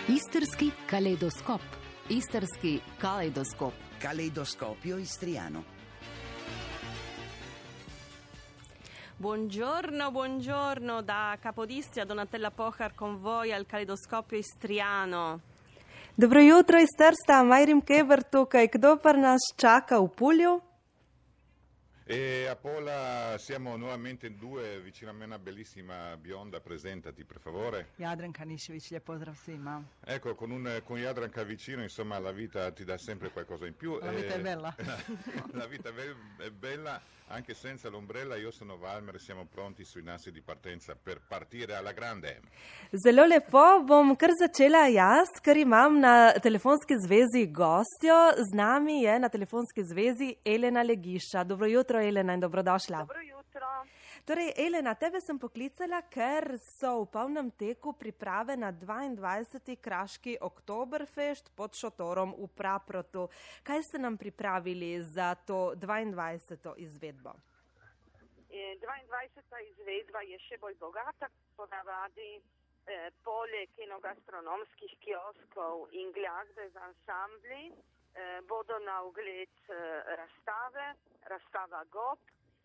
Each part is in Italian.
Istrski kalejdoskop. Istrski kalejdoskop. Caleidoscopio istriano. Buongiorno da Capodistria, Donatella Pohar con voi al Caleidoscopio istriano. Dobro jutro iz Trsta, Majrim Keber tukaj. Kdo pa nas čaka v Pulju? E a Pola siamo nuovamente in due, vicino a me una bellissima bionda, presentati per favore. Jadranka Nišević, lijep pozdrav svima. Ecco, con Jadranka vicino, insomma, la vita ti dà sempre qualcosa in più. La vita è bella. La vita è bella, anche senza l'ombrella. Io sono Valmer, siamo pronti sui nastri di partenza per partire alla grande. Zelo lepo, bom kar začela jaz, ker imam na telefonski zvezi gostjo. Z nami je na telefonski zvezi Elena Legiša. Dobro jutro, Elena, in dobrodošla. Dobro jutro. Torej, Elena, tebe sem poklicala, ker so v polnem teku priprave na 22. Kraški Oktoberfest pod šotorom v Praprotu. Kaj ste nam pripravili za to 22. izvedbo? 22. izvedba je še bolj bogata, ponavadi poleg enogastronomskih kioskov in glasbe z ansambli bodo na ogled razstava GOP,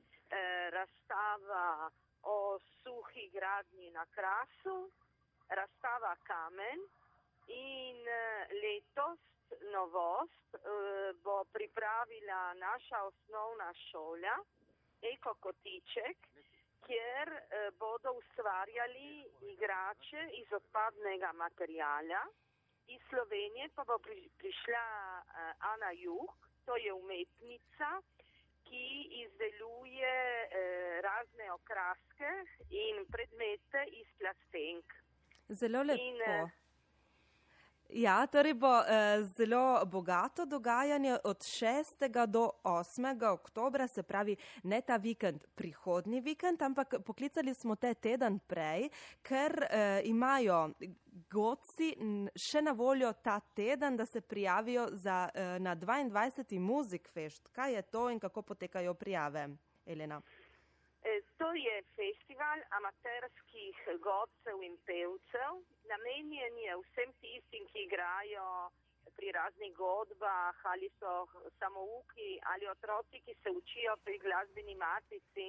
razstava o suhi gradnji na Krasu, razstava Kamen in letos novost bo pripravila naša osnovna šola Eko Kotiček, kjer bodo ustvarjali igrače iz odpadnega materijala. Iz Slovenije pa bo prišla Ana Juh, to je umetnica, ki izdeluje razne okraske in predmete iz plastenk. Zelo lepo. Ja, torej bo zelo bogato dogajanje od 6. do 8. oktobra, se pravi ne ta vikend, prihodnji vikend, ampak poklicali smo te teden prej, ker imajo godci še na voljo ta teden, da se prijavijo na 22. Music Fest. Kaj je to in kako potekajo prijave, Elena? To je festival amaterskih godcev in pevcev. Namenjen je vsem tistim, ki igrajo pri raznih godbah, ali so samouki, ali otroci, ki se učijo pri glasbeni matici.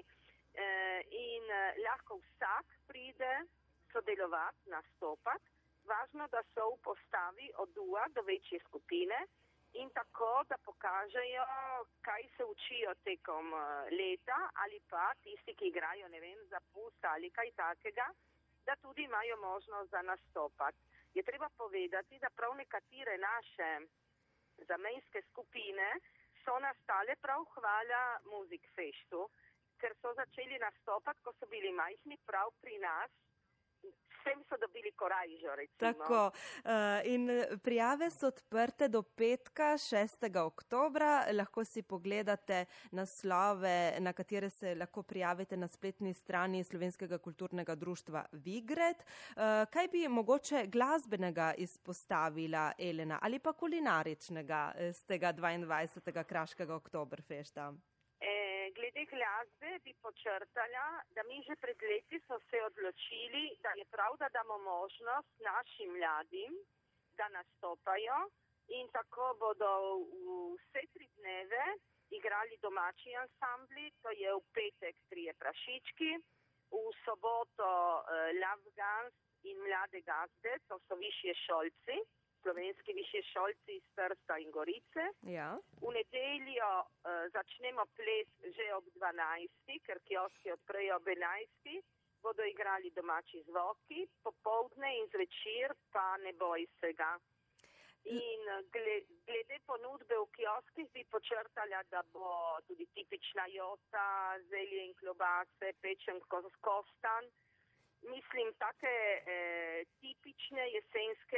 In lahko vsak pride sodelovati, nastopati. Važno, da so v postavi od duha do večje skupine in tako, da pokažejo, kaj se učijo tekom leta, ali pa tisti, ki igrajo, ne vem, za pust ali kaj takega, da tudi imajo možnost za nastopati. Je treba povedati, da prav nekatere naše zamejske skupine so nastale prav hvala Music Festu, ker so začeli nastopati, ko so bili majhni prav pri nas. Vsem so dobili korajžo, recimo. Tako, in prijave so odprte do petka, 6. oktobra. Lahko si pogledate naslove, na katere se lahko prijavite na spletni strani Slovenskega kulturnega društva Vigret. Kaj bi mogoče glasbenega izpostavila, Elena, ali pa kulinaričnega z tega 22. Kraškega Oktoberfesta? Glede glasbe bi počrtala, da mi že pred leti so se odločili, da je prav, da damo možnost našim mladim, da nastopajo in tako bodo vse 3 dneve igrali domači ansambli, to je v petek 3 prašički, v soboto Lavgans in mlade gazde, to so višje šolci, slovenski višje šolci iz Trsta in Gorice. Ja. V nedeljo začnemo ples že ob 12, ker kioski odprejo ob 11, bodo igrali domači zvoki, popoldne in zvečer pa ne boj se ga. In glede ponudbe v kioskih bi počrtala, da bo tudi tipična jota, zelje in klobase, pečen kostan. Mislim, take tipične jesenske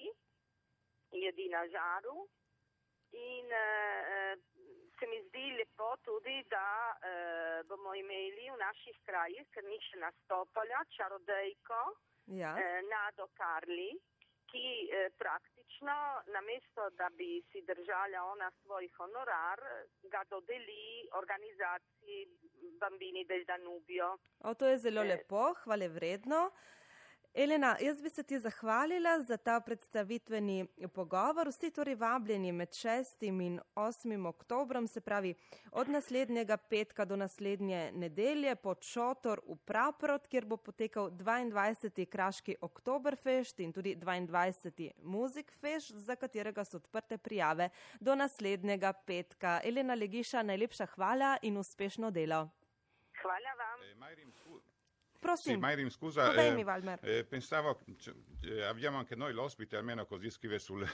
jedi na žaru in se mi zdi lepo tudi, da bomo imeli v naših krajih, ker ni še nastopala, čarodejko Nado Karli, ki praktično namesto, da bi si držala ona svoj honorar, ga dodeli organizaciji Bambini del Danubio. To je zelo lepo, hvalevredno. Elena, jaz bi se ti zahvalila za ta predstavitveni pogovor. Vsi torej vabljeni med 6. in 8. oktobrom, se pravi od naslednjega petka do naslednje nedelje pod šotor v Praprot, kjer bo potekal 22. Kraški Oktoberfest in tudi 22. Musikfest, za katerega so odprte prijave do naslednjega petka. Elena Legiša, najlepša hvala in uspešno delo. Hvala vam. Prosim, Sì, Mayrim, scusa, podajmi, Valmer. Pensavo, abbiamo anche noi l'ospite, almeno così scrive sul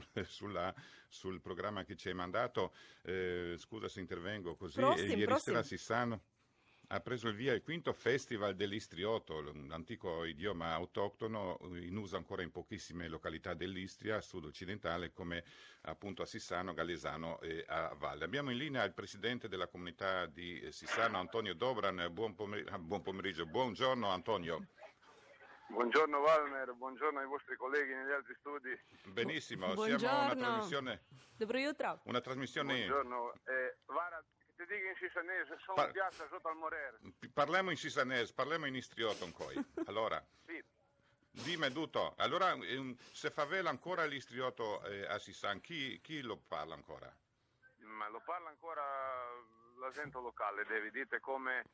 programma che ci hai mandato, scusa se intervengo così, ieri sera Sissano ha preso il via il quinto festival dell'istrioto, un antico idioma autoctono in uso ancora in pochissime località dell'Istria, sud-occidentale, come appunto a Sissano, Gallesano e a Valle. Abbiamo in linea il presidente della comunità di Sissano, Antonio Dobran. Buon pomeriggio, buongiorno Antonio. Buongiorno Valmer, buongiorno ai vostri colleghi negli altri studi. Benissimo, Buongiorno. siamo una trasmissione. Dobro jutro. Una trasmissione. Buongiorno. Guarda, ti dico in sisanese, sono in piazza sotto al Morer. Parliamo in sisanese, parliamo in istrioto poi. Allora, Sì. dimmi tutto. Allora, se favela ancora l'istrioto a Sissan, chi lo parla ancora? Ma lo parla ancora la gente locale, devi dite come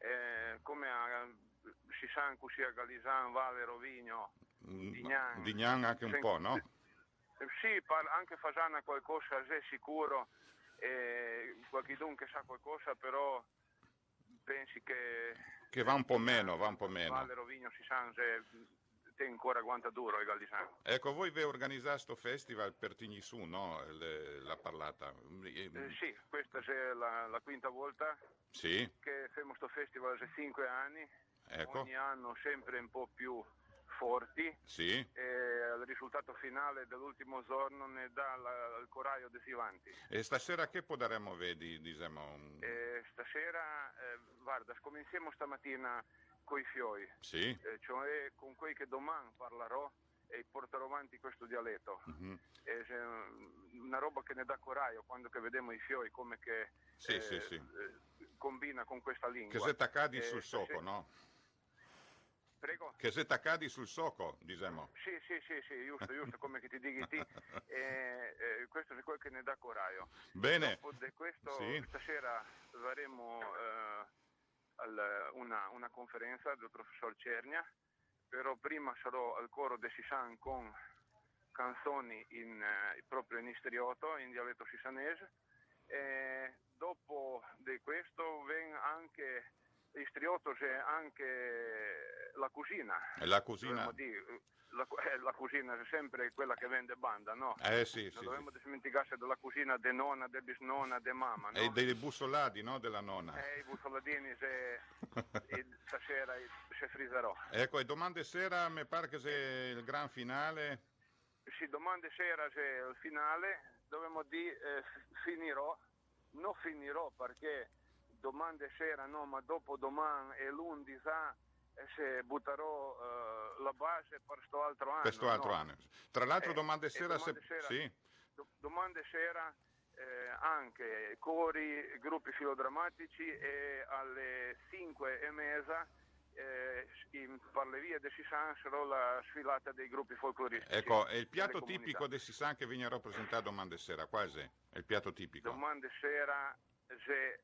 a Sissan, così a Galisan, Valle, Rovigno, Dignan. Dignan anche un po', no? Sì, anche Fasana qualcosa, è sicuro. Qualcuno che sa qualcosa, però pensi che va un po' meno, va un po' meno. Valle Rovigno si sa te ancora quanta duro il Gallisano. Ecco, voi vi organizzate sto festival per Tignisù, no? La parlata. Sì, questa è la quinta volta Sì, che facciamo questo festival da 5 anni. ecco. Ogni anno sempre un po' più forti. Sì. E il risultato finale dell'ultimo giorno ne dà il coraggio dei Sivanti. E stasera che potremmo vedere, diciamo? Stasera, guarda, cominciamo stamattina coi fioi, Sì. cioè con quelli che domani parlerò e porterò avanti questo dialetto. Mm-hmm. È una roba che ne dà coraggio quando che vediamo i fioi come che Sì. combina con questa lingua. Che se t'accadi sul stasera- soco, no? Prego? Che se t'accadi sul soco, diciamo. Sì, giusto come che ti dighi ti. Questo è quello che ne dà coraggio. Bene. Dopo di questo, Sì. stasera faremo una conferenza del professor Cernia, però prima sarò al coro di Sissan con canzoni proprio in istrioto, in dialetto sisanese, e dopo di questo viene anche istrioto, c'è anche la cucina. La cucina. Dovremmo dire, la cucina è sempre quella che vende banda, no? Sì. Non dobbiamo dimenticarsi della cucina de nonna, de bisnonna, de mamma, no? E dei bussolati, no? Della nonna. I bussoladini stasera si friserò. Ecco, e domande sera mi pare che sia il gran finale. Sì, domande sera c'è il finale, dovremmo dire non finirò perché domande sera no, ma dopo domani e lunedì se butterò la base per sto altro anno. Per sto altro anno. Tra l'altro domande sera, sì. Domande sera anche cori, gruppi filodrammatici e alle 5:30 per le vie di Sissan sarà la sfilata dei gruppi folcloristici. Ecco, è il piatto tipico di Sissan che viene rappresentato domande sera, quasi è il piatto tipico. Domande sera se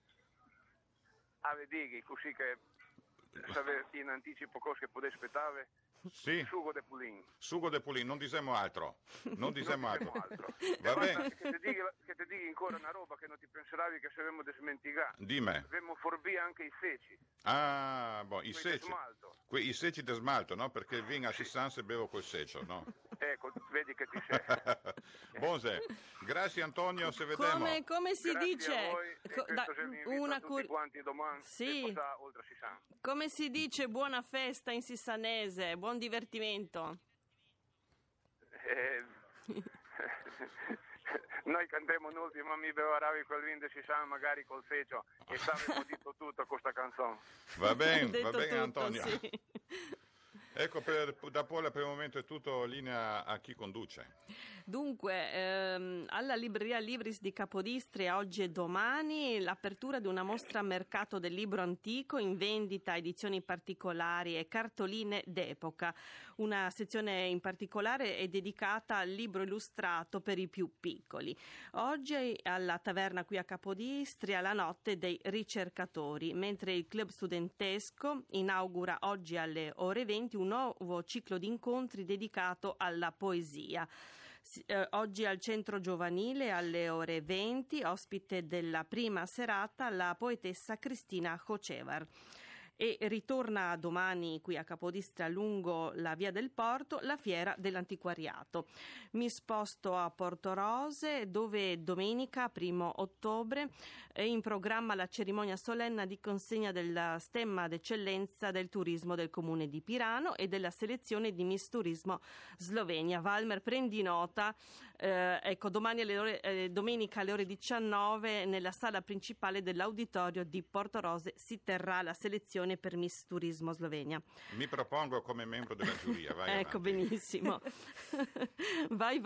avete così che sapete in anticipo cosa che potete aspettare. Sì. Sugo de pulin. Sugo de pulin, non diciamo altro. Non diciamo altro. Va Guarda, bene. che ti dica ancora una roba che non ti pensavi che saremmo dimenticati. Dimmi. Abbiamo forbì anche i seci. Ah, boh, i Quelli seci. di smalto. I seci di smalto, no? Perché il vino a Sissan se bevo col secio, no? Ecco, vedi che ti sei. Buonse. Grazie Antonio, se vediamo. Come si Grazie dice? a voi, e questo se mi invita tutti quanti domani Sì. e passare oltre Sissan. Come si dice buona festa in sissanese? Buon divertimento. Noi cantiamo l'ultimo, mi bevoravi quel vino di Sissan magari col secio e saremmo detto tutto questa canzone. Va bene Detto tutto, Antonio. sì. Ecco, da Pola per il momento è tutto, linea a chi conduce. Dunque, alla Libreria Libris di Capodistria oggi e domani l'apertura di una mostra a mercato del libro antico in vendita, edizioni particolari e cartoline d'epoca. Una sezione in particolare è dedicata al libro illustrato per i più piccoli. Oggi alla taverna qui a Capodistria la notte dei ricercatori, mentre il club studentesco inaugura oggi alle ore 20 un nuovo ciclo di incontri dedicato alla poesia. Oggi al centro giovanile alle ore 20, ospite della prima serata la poetessa Cristina Hocevar. E ritorna domani qui a Capodistria lungo la via del Porto la fiera dell'antiquariato. Mi sposto a Portorose dove domenica 1 ottobre è in programma la cerimonia solenne di consegna della stemma d'eccellenza del turismo del comune di Pirano e della selezione di Miss Turismo Slovenia. Valmer, prendi nota, ecco, domani domenica alle ore 19 nella sala principale dell'auditorio di Portorose si terrà la selezione per Miss Turismo Slovenia. Mi propongo come membro della giuria, vai ecco, avanti. Benissimo. Vai,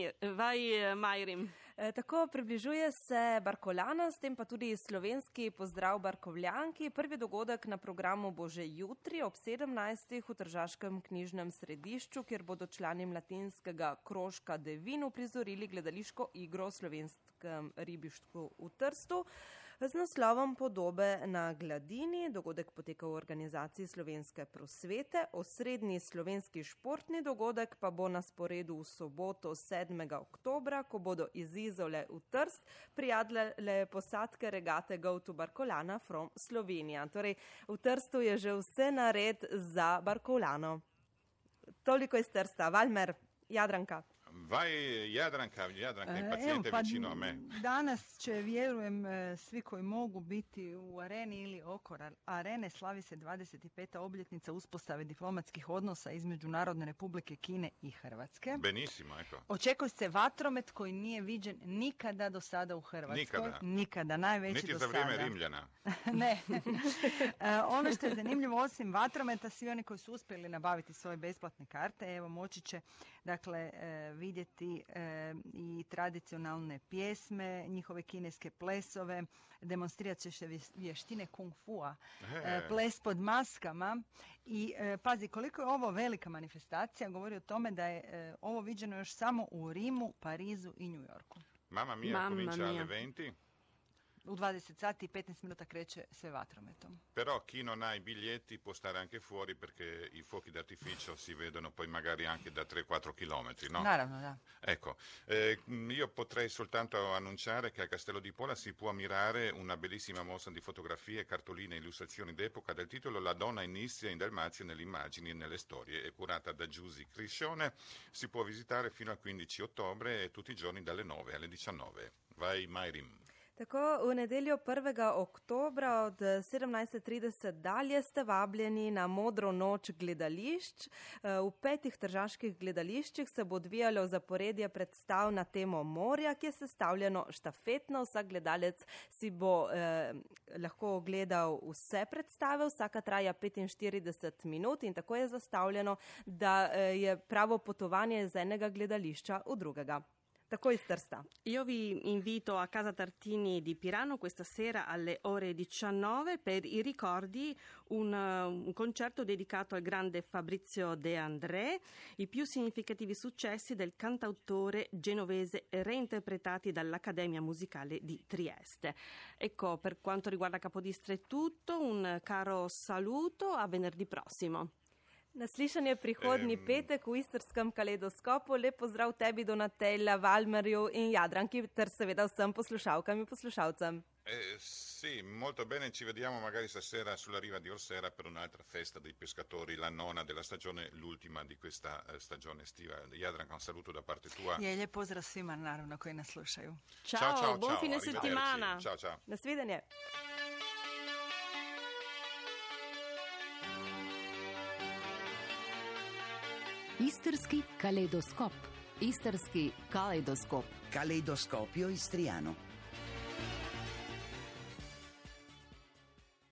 Majrim. Tako približuje se Barkolana, s tem pa tudi slovenski pozdrav Barkovljanki. Prvi dogodek na programu bo že jutri ob 17. v Tržaškem knjižnem središču, kjer bodo člani mladinskega krožka Devin uprizorili gledališko igro o slovenskem ribištvu v Trstu z naslovom Podobe na gladini. Dogodek poteka v organizaciji Slovenske prosvete. Osrednji slovenski športni dogodek pa bo na sporedu v soboto 7. oktobra, ko bodo iz Izole v Trst prijadle posadke regate Go to Barkolana from Slovenija. Torej, v Trstu je že vse nared za Barkolano. Toliko iz Trsta. Valmer, Jadranka. Vai Jadranka impacijente vicino a me. Danas će, vjerujem, svi koji mogu biti u areni ili oko arene, slavi se 25. obljetnica uspostave diplomatskih odnosa između Narodne Republike Kine i Hrvatske. Benissimo, ecco. Očekuje se vatromet koji nije viđen nikada do sada u Hrvatskoj. Nikada, najveći niti do za sada. vrijeme Rimljana. Ne. Ono što je zanimljivo, osim vatrometa, svi oni koji su uspjeli nabaviti svoje besplatne karte, evo, moći će, dakle, vidjeti i tradicionalne pjesme, njihove kineske plesove, demonstrirat će se vještine kung fua, ples pod maskama i pazi, koliko je ovo velika manifestacija, govori o tome da je ovo viđeno još samo u Rimu, Parizu i New Yorku. Mamma mia, comincia alle 20. U 20 sati i 15 minuta kreće sve vatrometom. Però chi non ha i biglietti può stare anche fuori perché i fuochi d'artificio si vedono poi magari anche da 3-4 chilometri, no? Naravno, da. Ecco, io potrei soltanto annunciare che al Castello di Pola si può ammirare una bellissima mostra di fotografie, cartoline e illustrazioni d'epoca dal titolo La donna inizia in Dalmazia nelle immagini e nelle storie. È curata da Giusy Criscione, si può visitare fino al 15 ottobre e tutti i giorni dalle 9 alle 19. Vai Majrim. Tako, v nedeljo 1. oktobra od 17.30 dalje ste vabljeni na Modro noč gledališč. V 5 tržaških gledališčih se bo odvijalo zaporedje predstav na temo morja, ki je sestavljeno štafetno. Vsak gledalec si bo lahko ogledal vse predstave, vsaka traja 45 minut in tako je zastavljeno, da je pravo potovanje iz enega gledališča v drugega. Tako iz Trsta. Io vi invito a Casa Tartini di Pirano questa sera alle ore 19 per i ricordi, un concerto dedicato al grande Fabrizio De André, i più significativi successi del cantautore genovese reinterpretati dall'Accademia Musicale di Trieste. Ecco, per quanto riguarda Capodistria è tutto, un caro saluto, a venerdì prossimo. Naslišanje prihodnji petek v Istrskem kaleidoskopu. Lep pozdrav tebi, Donatella, Valmerju in Jadranki, ter seveda vsem poslušalkam in poslušalcem. Sì, molto bene, ci vediamo magari stasera sulla riva di Orsera per un'altra festa dei pescatori, la nona della stagione, l'ultima di questa stagione estiva. Jadranka, un saluto da parte tua. Je, lijep pozdrav svima, naravno, koji nas slušaju. Ciao, buon fine settimana. Ciao, ciao. Nasvidenje. Istrski kaleidoskop. Istrski kaleidoskop. Caleidoscopio istriano.